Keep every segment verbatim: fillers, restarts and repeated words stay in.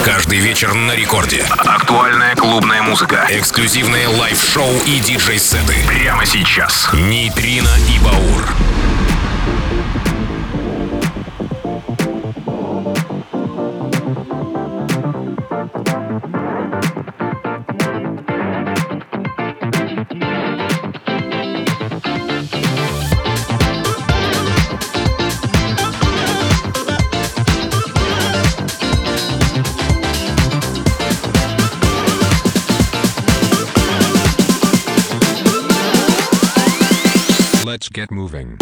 Каждый вечер на рекорде. Актуальная клубная музыка. Эксклюзивные лайв-шоу и диджей-сеты. Прямо сейчас. Нейтрино и Баур. Let's get moving.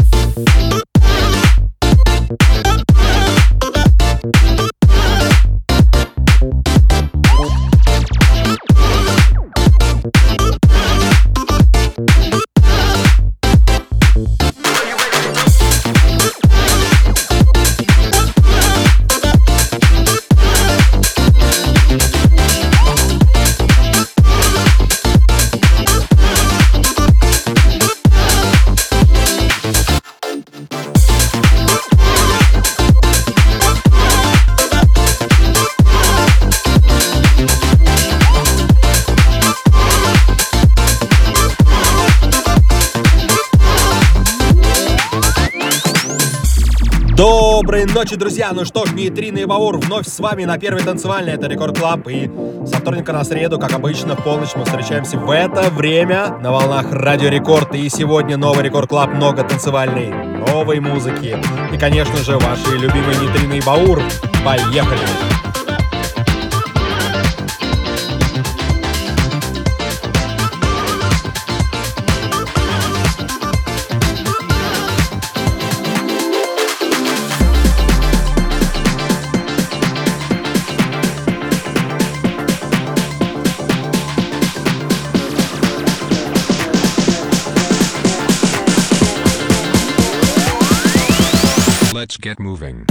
Доброй ночи, друзья! Ну что ж, Нейтрино и Баур вновь с вами на первой танцевальной. Это Рекорд Клаб. И со вторника на среду, как обычно, в полночь мы встречаемся в это время на волнах Радио Рекорд. И сегодня новый Рекорд Клаб, много танцевальной, новой музыки. И, конечно же, ваши любимые Нейтрино и Баур. Поехали! Let's get moving.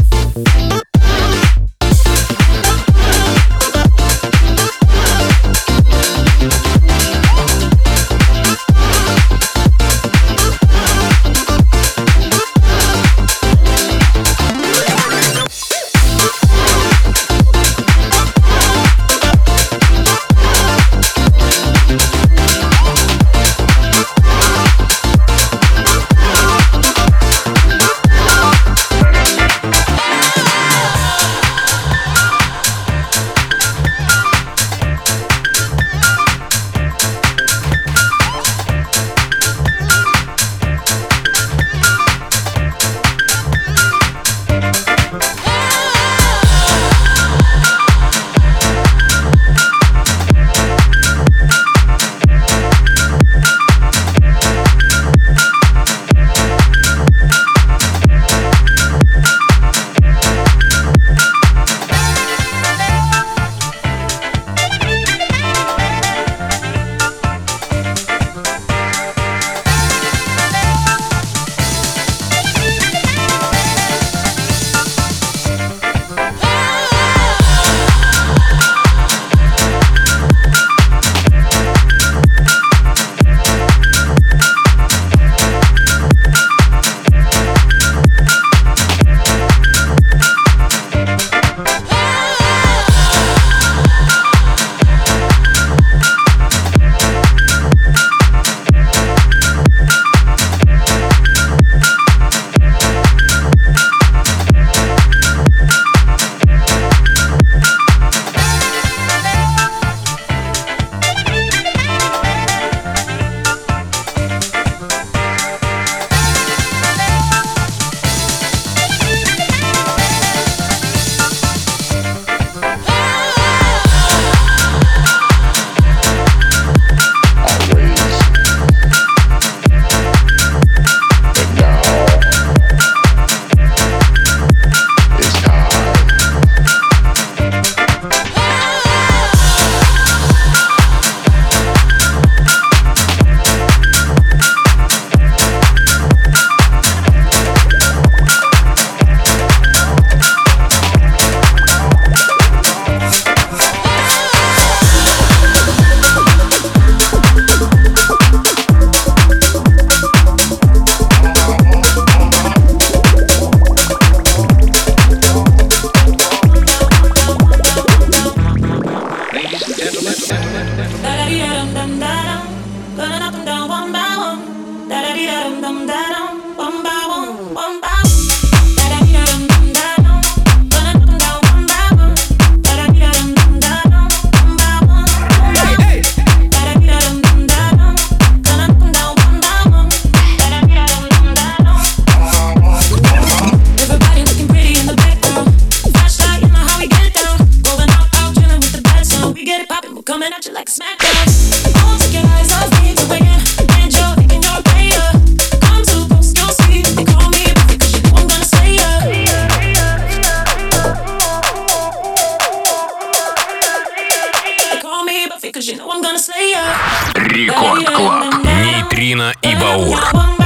Рекорд Клаб. Нейтрино и Баур.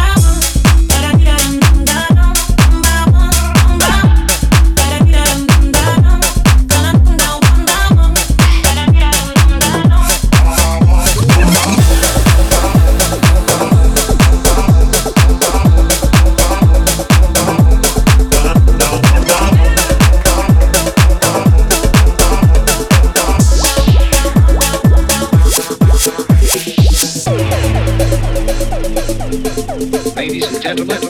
Ladies and gentlemen,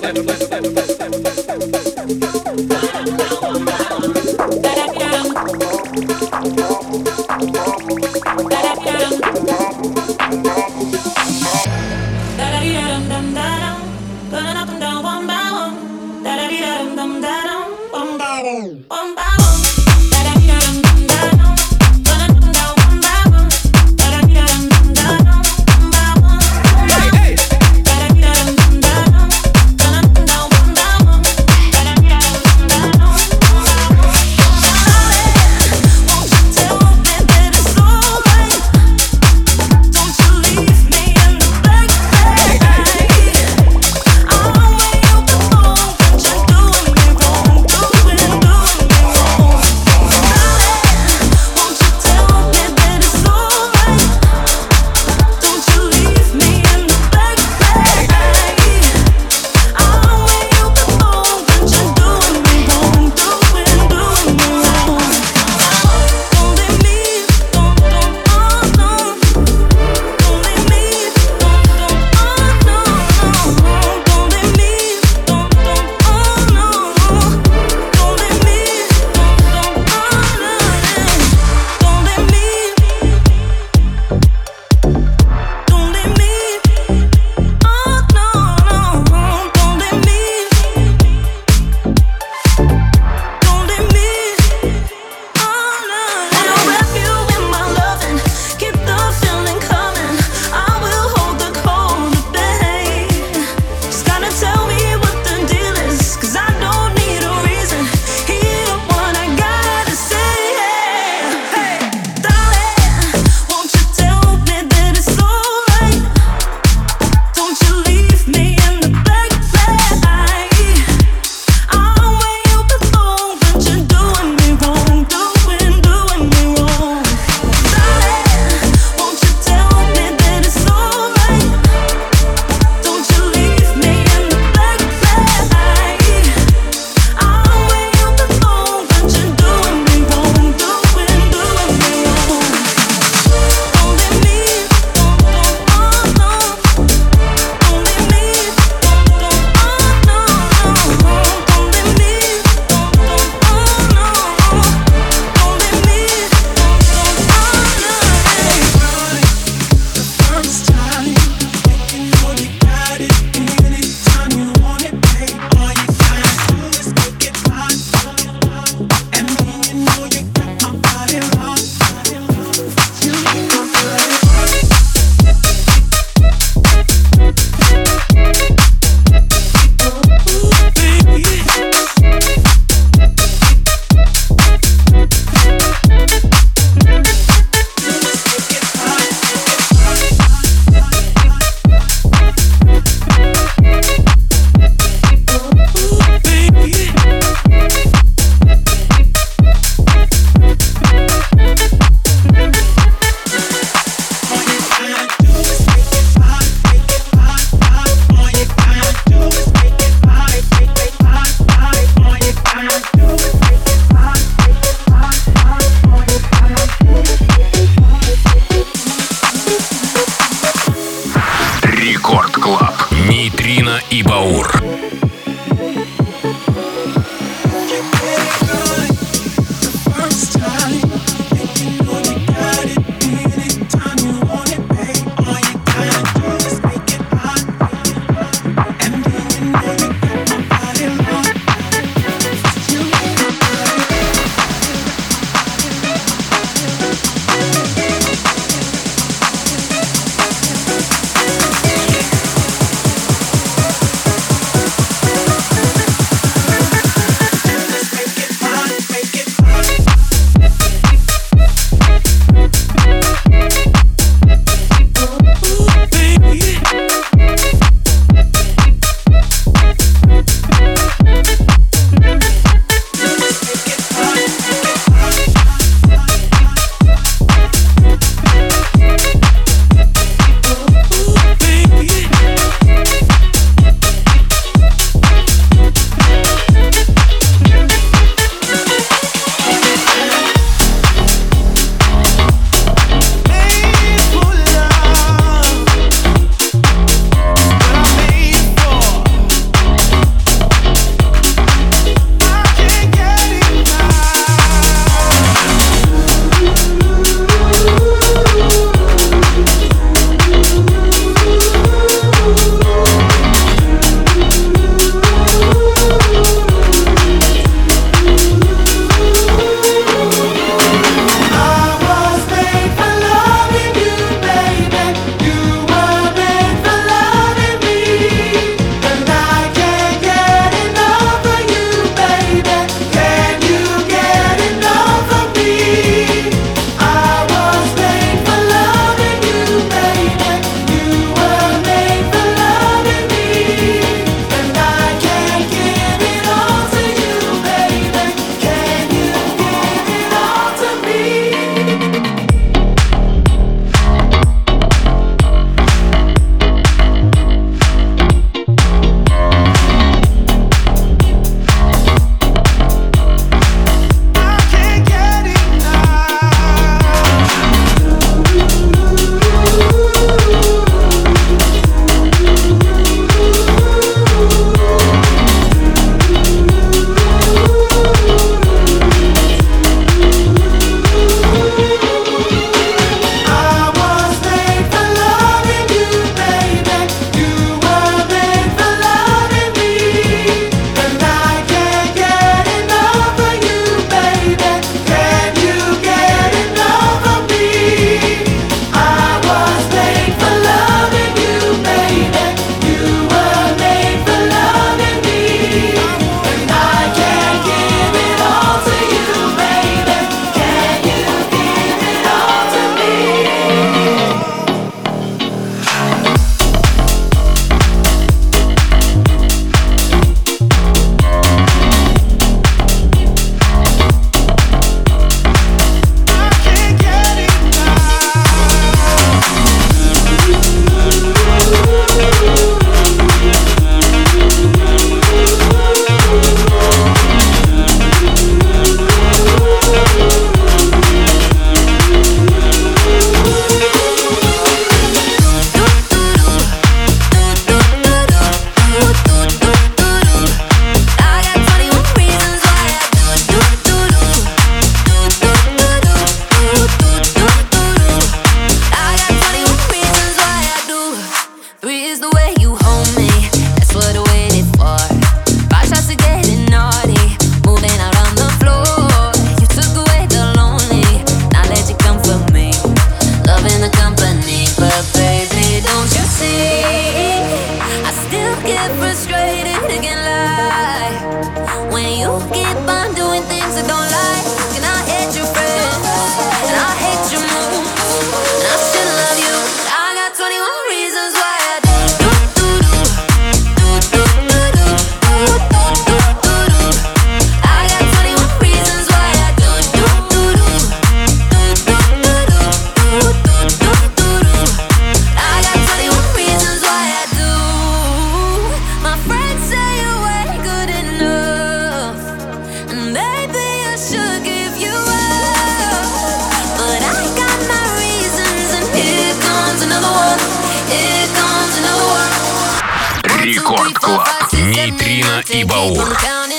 и Баур.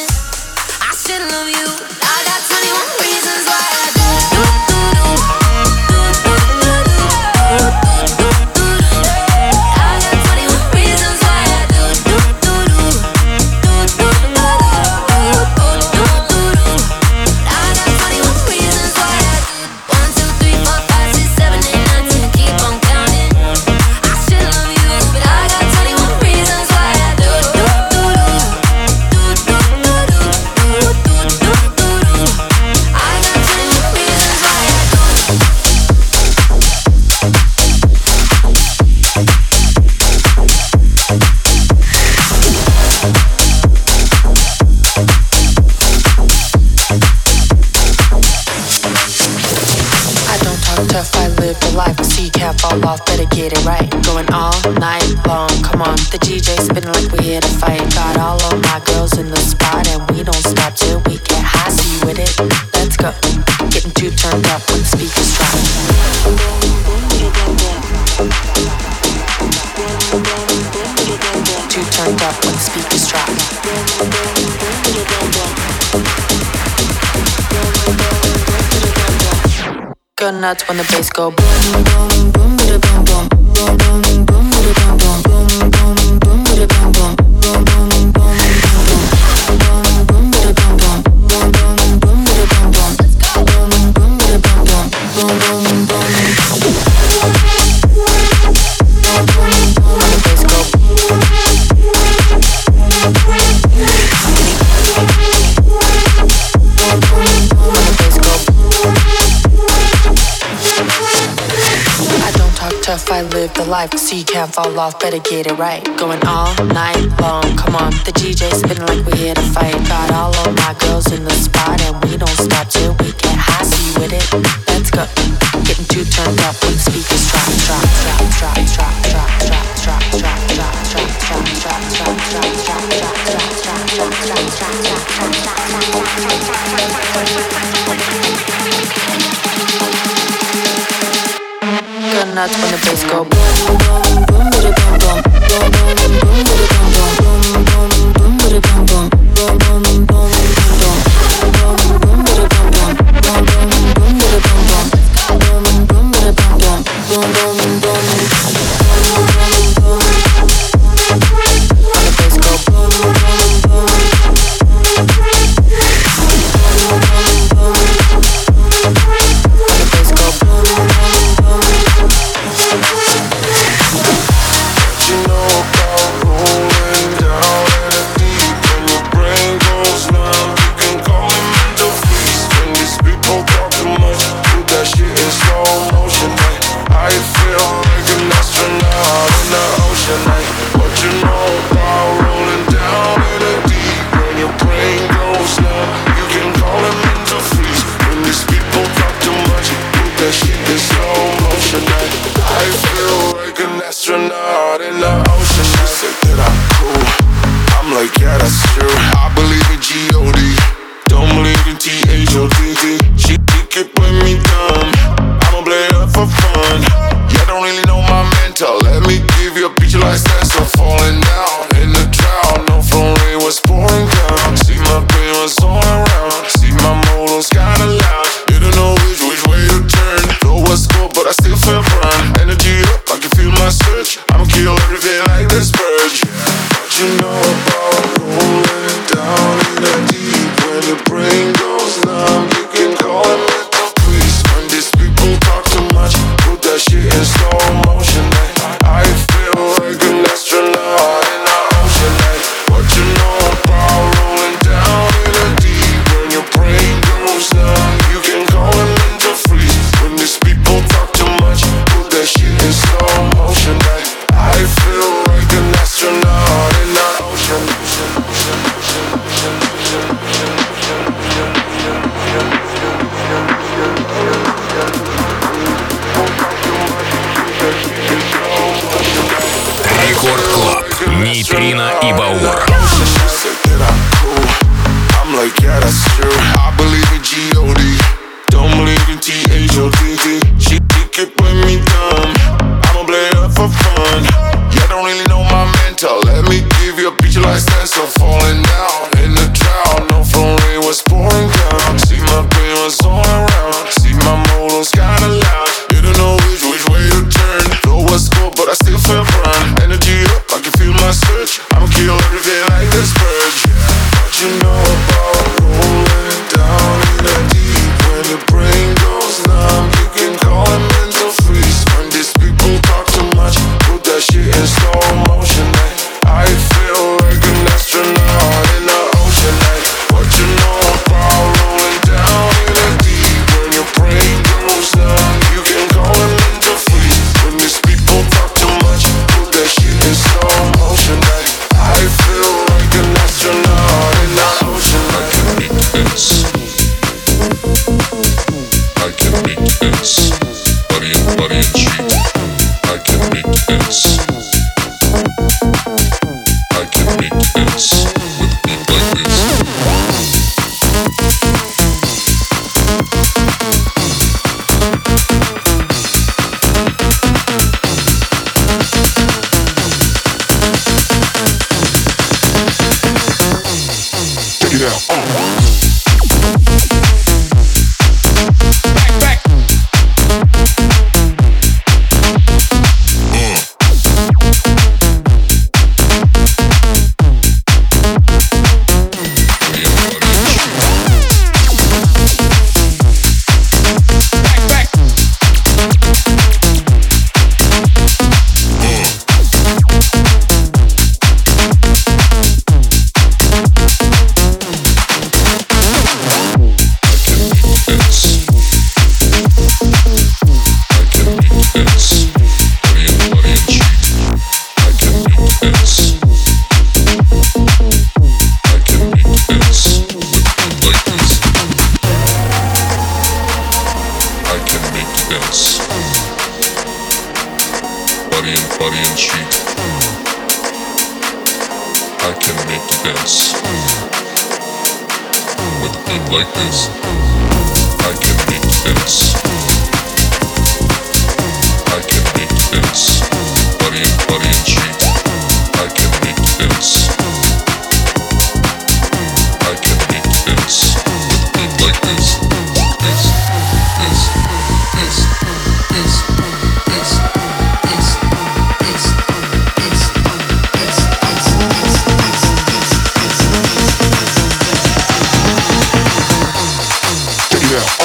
Fall off, better get it right. Going all night long, come on. The D J spinning like we're here to fight. Got all of my girls in the spot, and we don't stop till we get high. See you with it? Let's go. Getting too turned up when the speakers drop. Too turned up when the speakers drop. Go nuts when the bass go boom, boom, boom, boom, boom, boom, boom, boom, boom, boom, boom, boom, boom, boom, boom, boom. I live the life, so you can't fall off, better get it right. Going all night long, come on. The D J spinning like we're here to fight. Got all of my girls in the spot, and we don't stop till we get high. See you with it? Let's go. Getting too turned up when the speakers drop, drop, drop, drop, drop, drop, drop, drop, drop, drop, drop, drop, drop, drop, drop, drop, Go nuts when the bass go boom, boom, boom, boom, boom, boom, boom, boom, boom, boom, boom, boom, boom, boom, boom, boom, boom. Нейтрино и Баур. I'm like, yeah, that's true. I believe in G O D. Don't believe in T H O T T. She, she could put me dumb. I'ma play her for fun. Yeah, don't really know my mental. Let me give you a picture like sense of falling down. body and cheek. I can make you dance. With a beat like this, I can make you dance. I can make you dance. Body and body and cheek. I can make you dance. I can make you dance. With a beat like this. This, this, this, this, this, this, this, this, this, yeah.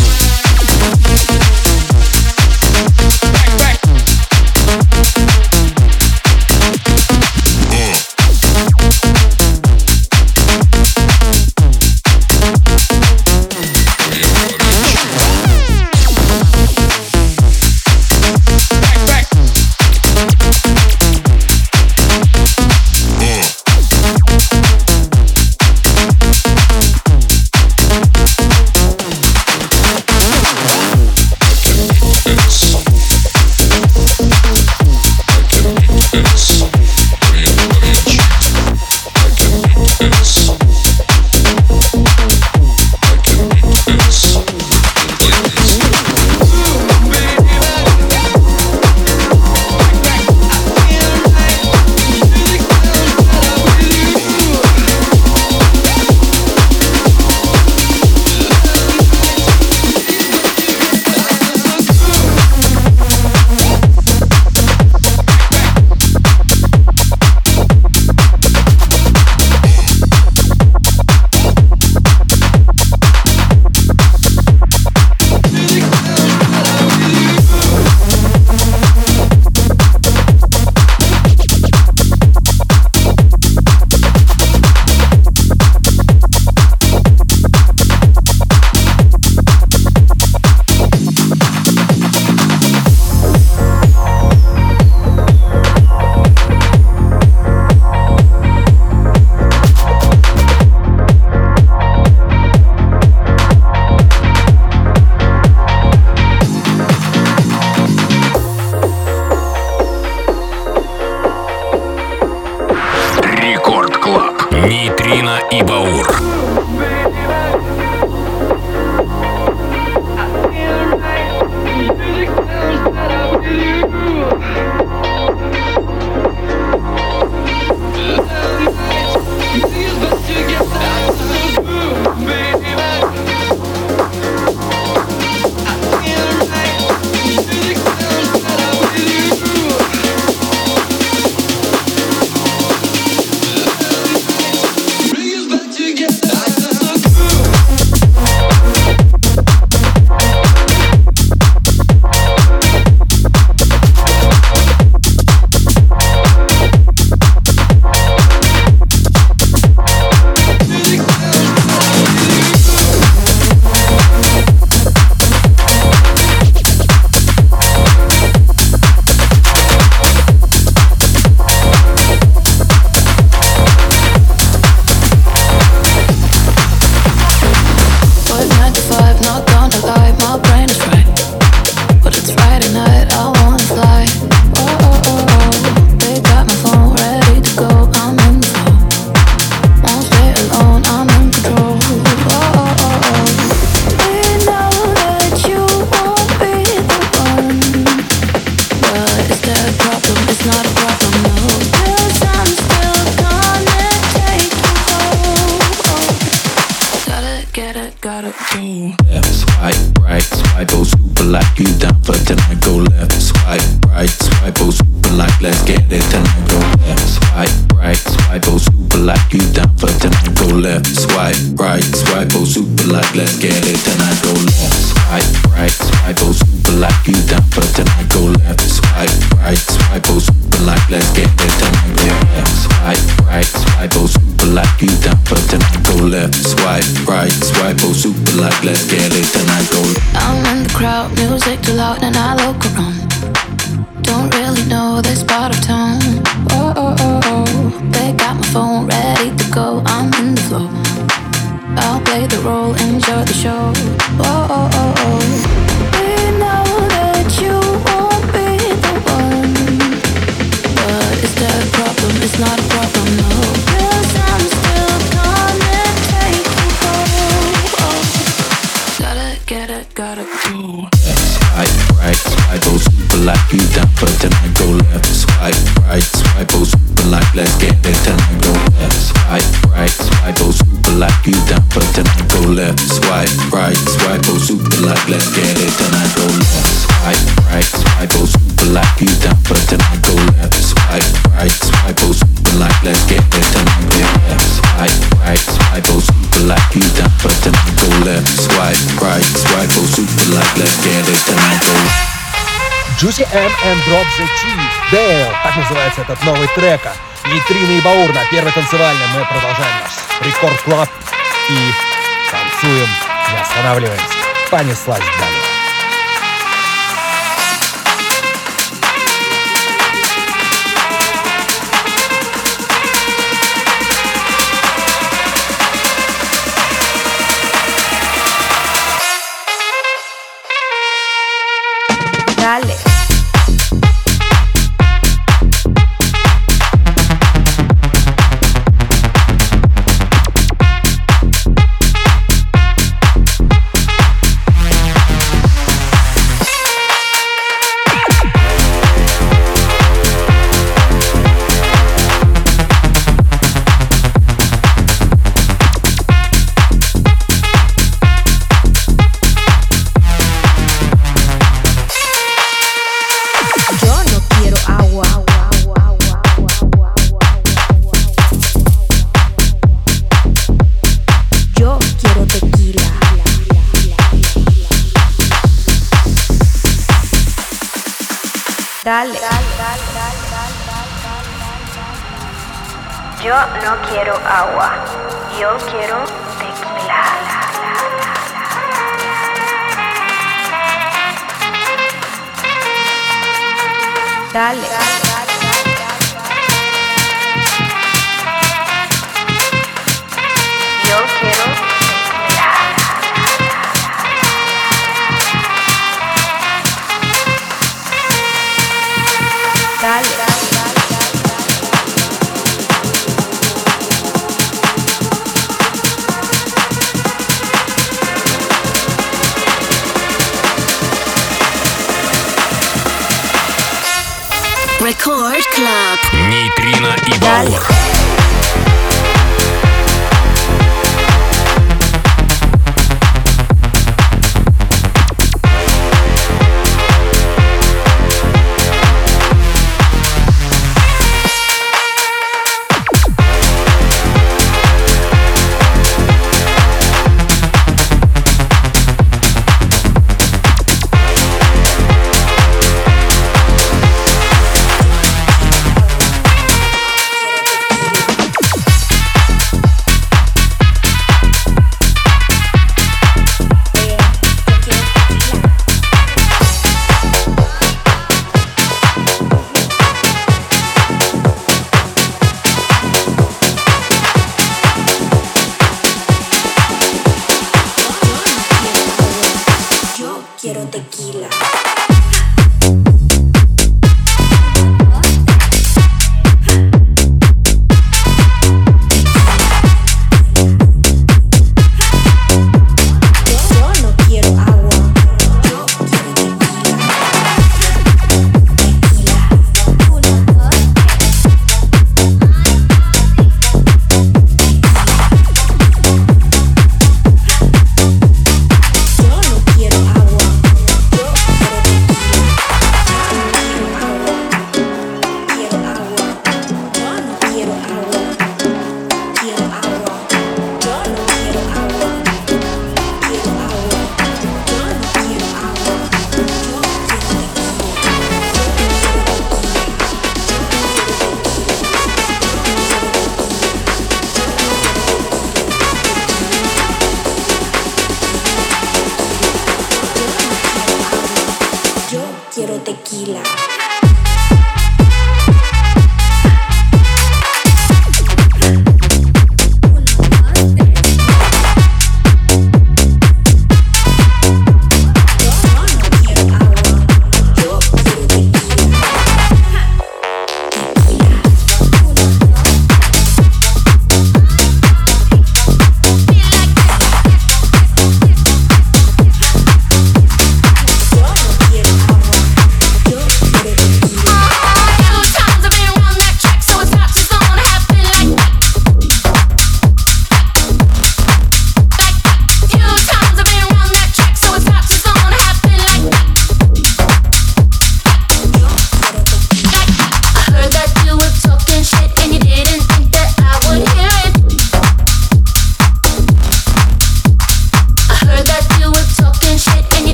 Нейтрино и Баур. get it, gotta go. Swipe right, swipe oh super like you down for tonight. Go left, swipe right, swipe oh super like let's get it tonight. Go left, swipe right, swipe oh super like you down for tonight. Go left, swipe right, swipe oh super like let's get it tonight. Go left, swipe right, swipe oh super like you down for tonight. Go left, swipe right, swipe oh super like let's get it tonight. Go left, swipe right, swipe oh super like you down for tonight. Go left, swipe right, swipe oh super like let's get it tonight. Go. Juicy M and Drop the Cheese. Dale, так называется этот новый трека. Нитрина и Баур на первой танцевальной. Мы продолжаем наш Рекорд Клаб и танцуем, не останавливаемся. Понеслась далее. Dale. Dale. Yo no quiero agua, yo quiero tequila. Dale. Yo quiero tequila. Dale. Record Club. Нейтрино и Баур. Tequila.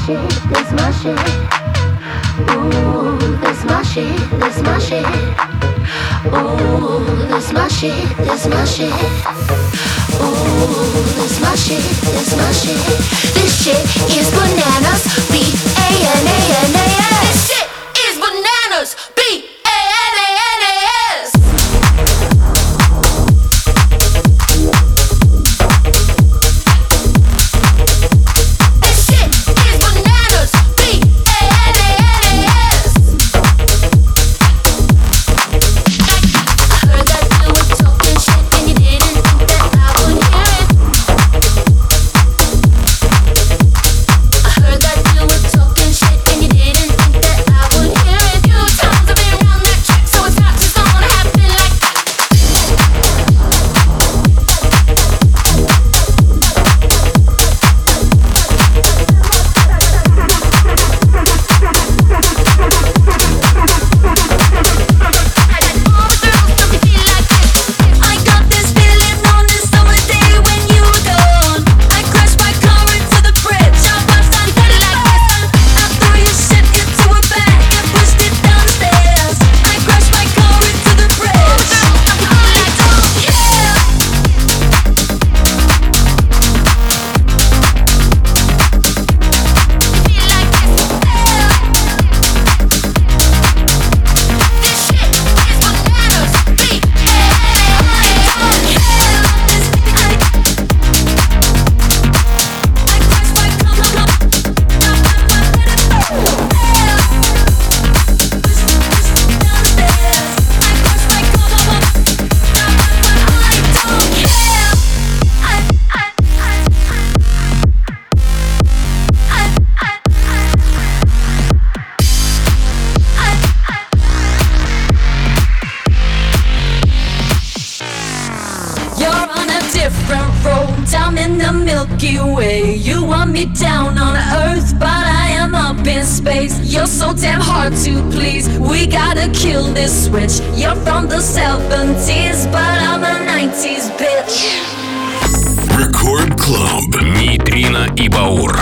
Нейтрино и Баур.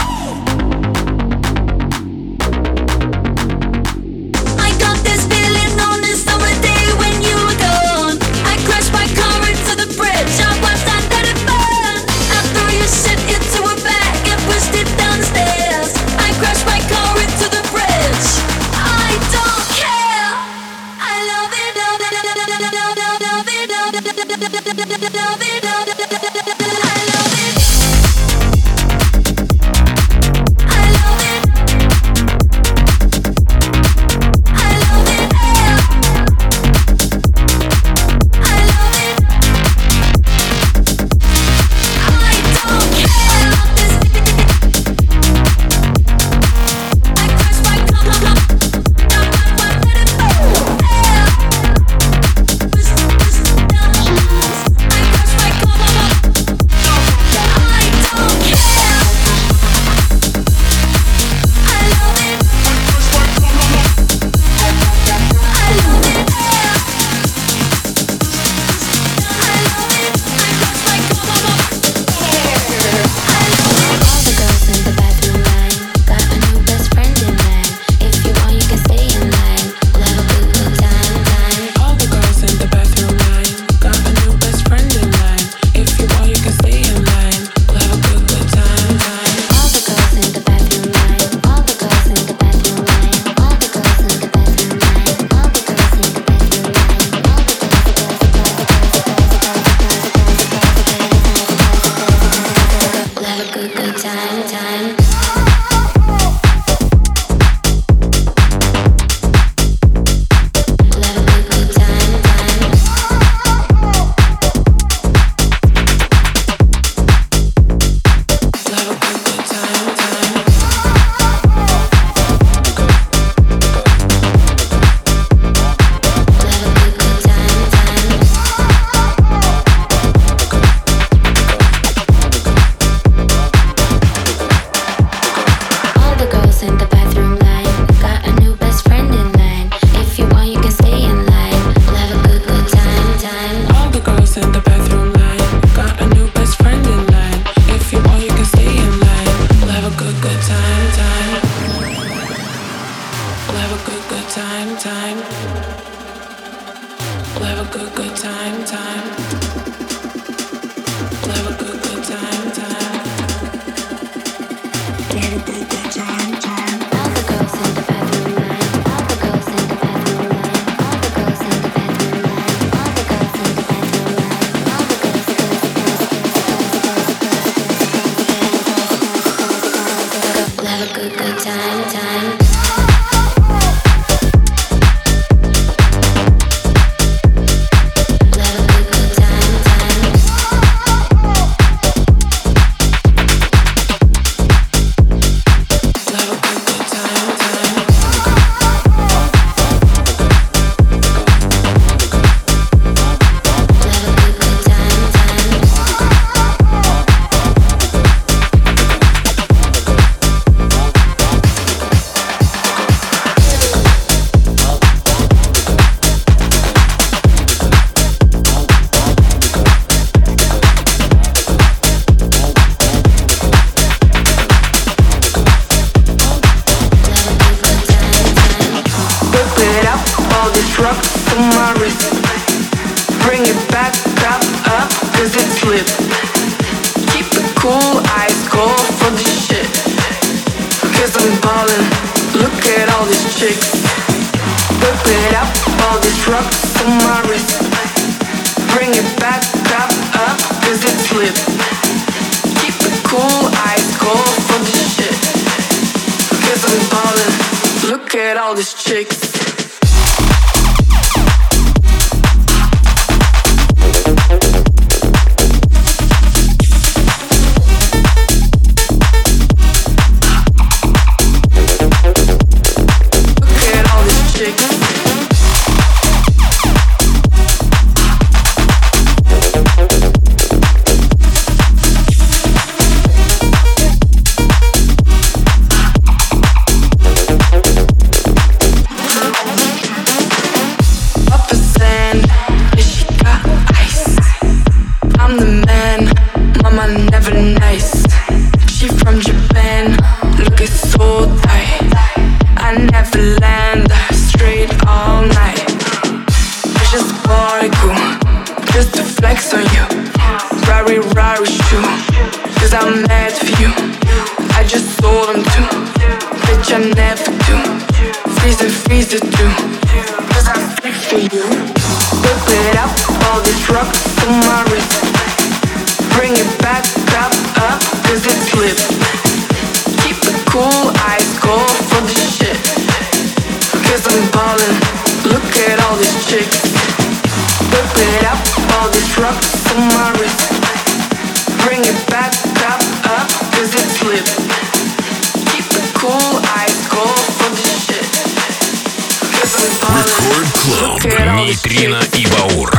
Нейтрино и Баур.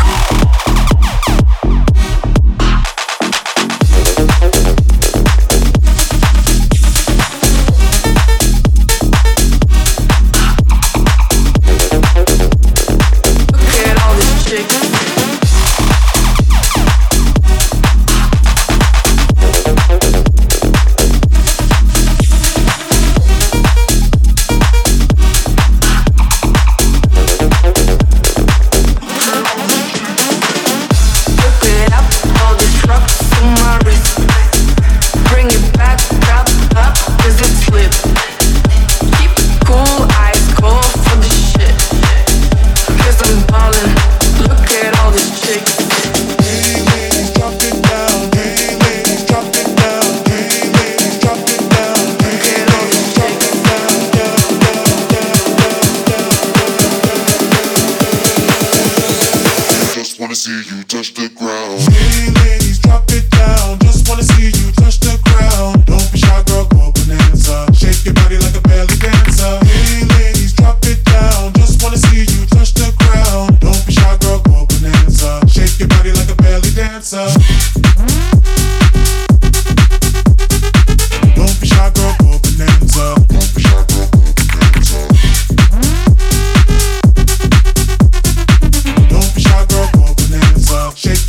Shake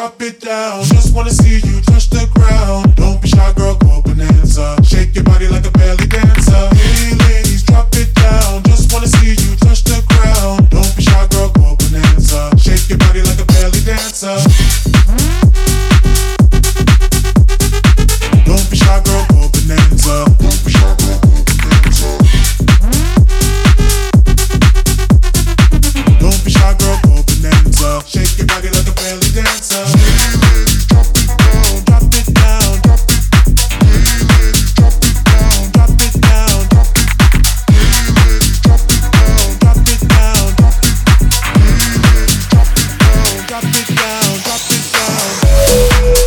drop it down. Just wanna see you touch the ground. Don't be shy, girl, go bonanza. Shake your body like a belly dancer. Hey, ladies, drop it down. Just wanna see you touch the ground. Don't be shy, girl, go bonanza. Shake your body like a belly dancer. Don't be shy, girl, go bonanza. Don't be shy, girl, go bonanza. Don't be shy, girl, go bonanza. Shake your body like a belly dancer. Hey, ladies, drop it down, drop it down, drop it. Hey, ladies, drop it down, drop it down, drop it. Hey, ladies, drop it down, drop it down, drop it. Hey, ladies, drop it down, drop it down, drop it down.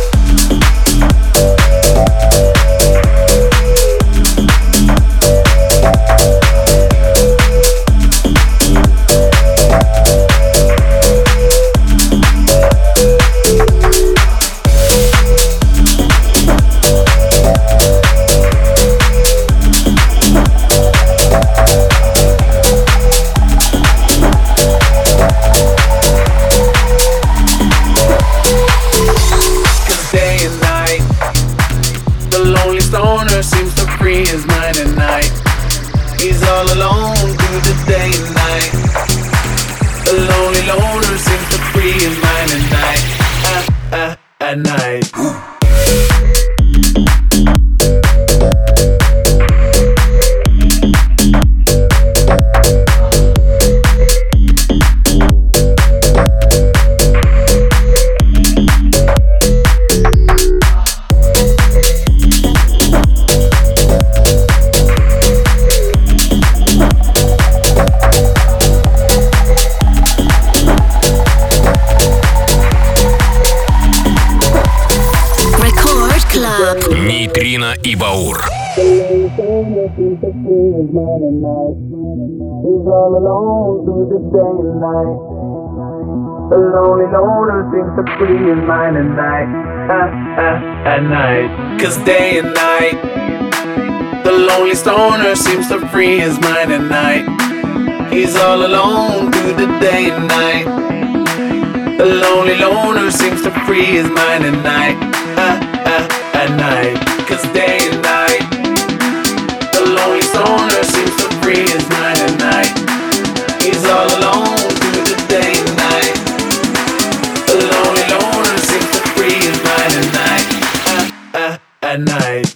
At night. Нейтрино и Баур. He's all alone through the day and night. The lonely loner seems to free his mind at night. Ah, ah, at night. Cause day and night, the lonely stoner seems to free his mind at night. He's all alone through the day and night. The lonely loner seems to free his mind at night. Ah, ah, at night. Cause day and night, the lonely stoner seems to free his mind at night. He's all alone through the day and night. The lonely loner seems to free his mind at night. Ah, ah, at night.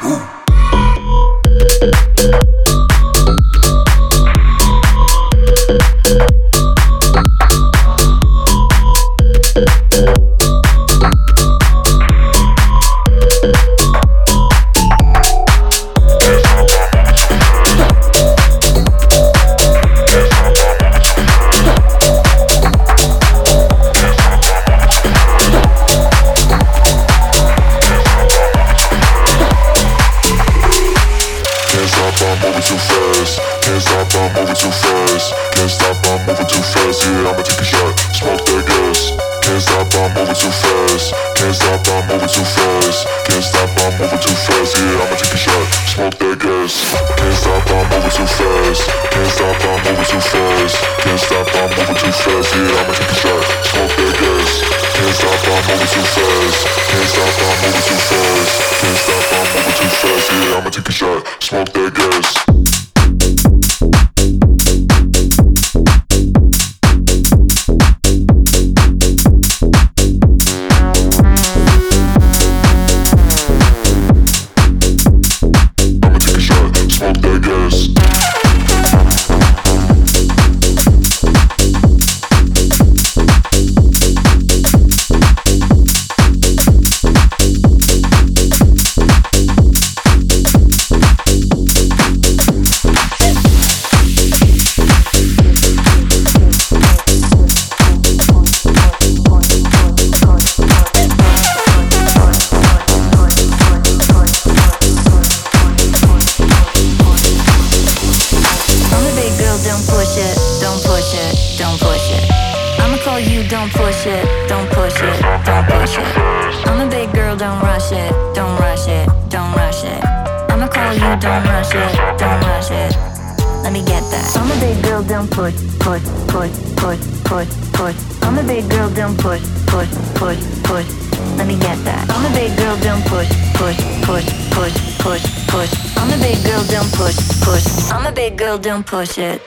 Let me get that. I'm a big girl, don't push, push, push, push, push, push. I'm a big girl, don't push, push. I'm a big girl, don't push it.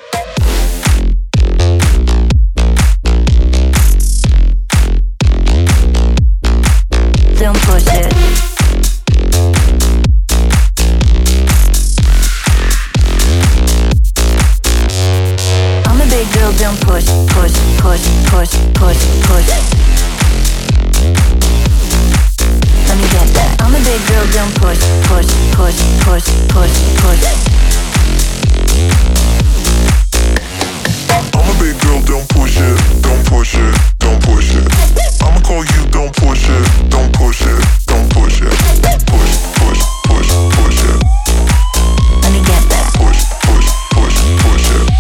Don't push it. I'm a big girl, don't push, push, push, push, push, push. Let me get that. I'm a big girl, don't push, push, push, push, push, push. I'm a big girl, don't push it, don't push it, don't push it. I'ma call you, don't push it, don't push it, don't push it. Push, push, push, push it. Let me get that. Push, push, push, push it.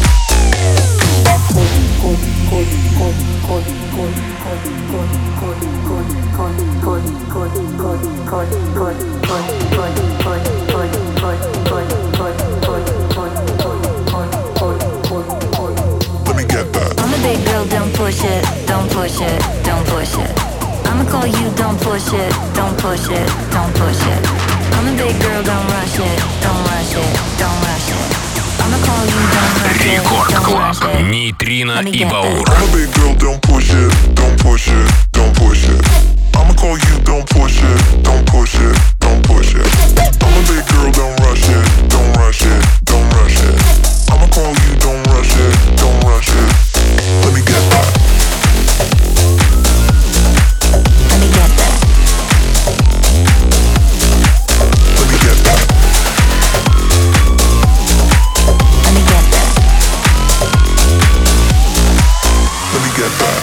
Let me get that. I'm a big girl, don't push it, don't push it, don't push it. I'ma call you, don't push it, don't push it, don't push it. I'm a big girl, don't rush it, don't rush it, don't rush it. I'ma call you, don't rush it, Рекорд don't Клаб. rush it. Нейтрино и Баур. I'm a big girl, don't push it, don't push it, don't push it. I'ma call you, don't push it, don't push it, don't push it. I'm a big girl, don't rush it, don't rush it, don't rush it. I'ma call you, don't rush it, don't rush it. Let me get that. Let me get that. Let me get that. Let me get that. Let me get that.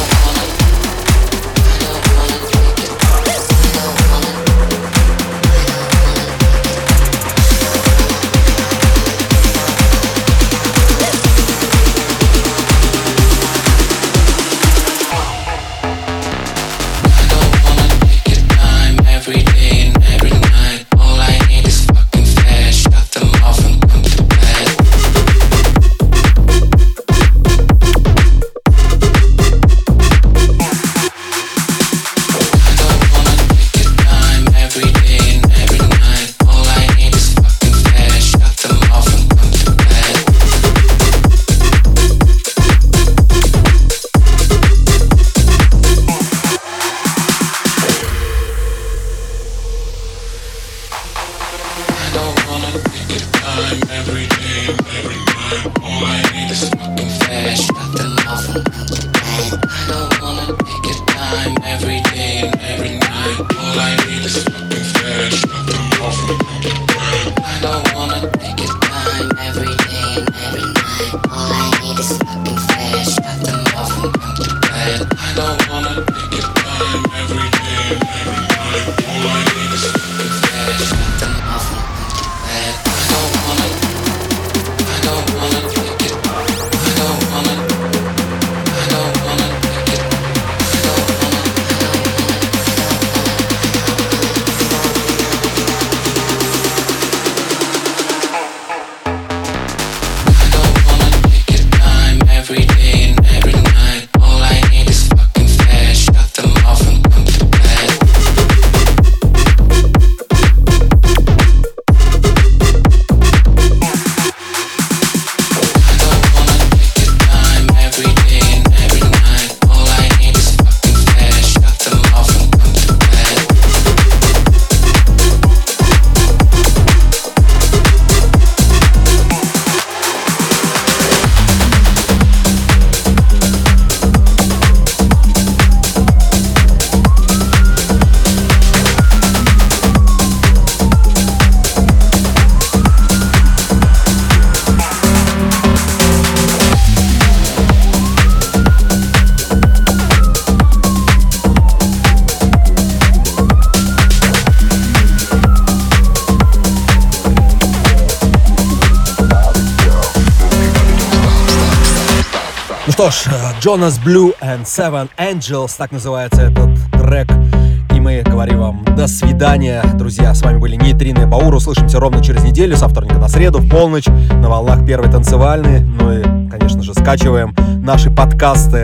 Что ж, Jonas Blue and Seven Angels, так называется этот трек. И мы говорим вам до свидания, друзья. С вами были Нейтрино и Баур. Услышимся ровно через неделю, со вторника на среду, в полночь, на волнах Первой танцевальной. Ну и, конечно же, скачиваем наши подкасты в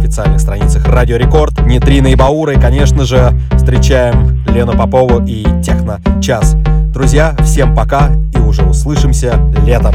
официальных страницах Радио Рекорд. Нитрина и Баура, и, конечно же, встречаем Лену Попову и Техно Час. Друзья, всем пока и уже услышимся летом.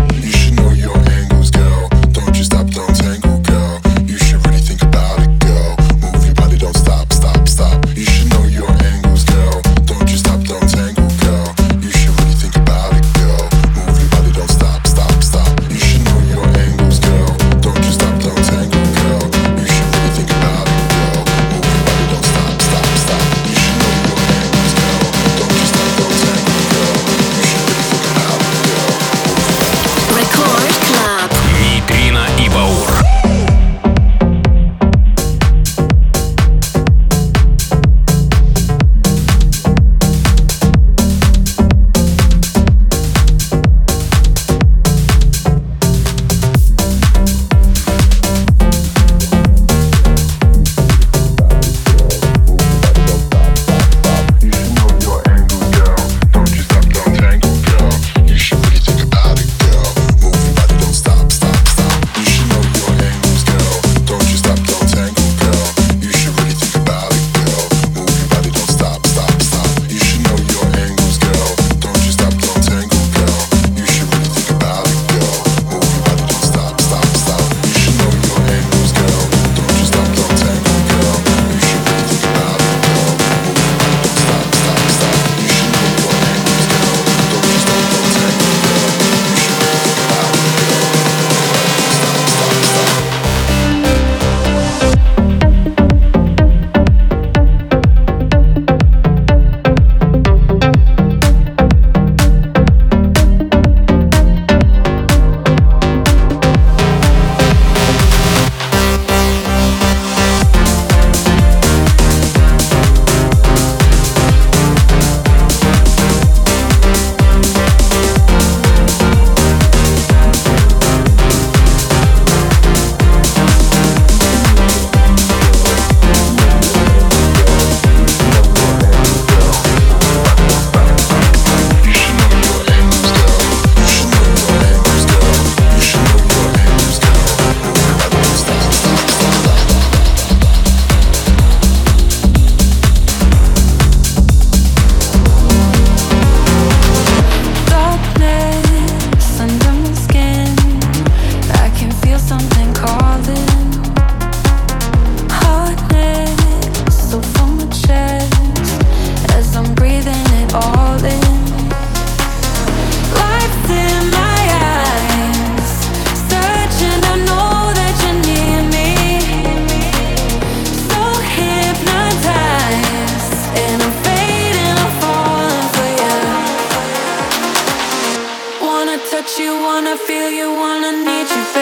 Touch you, wanna feel you, wanna need you.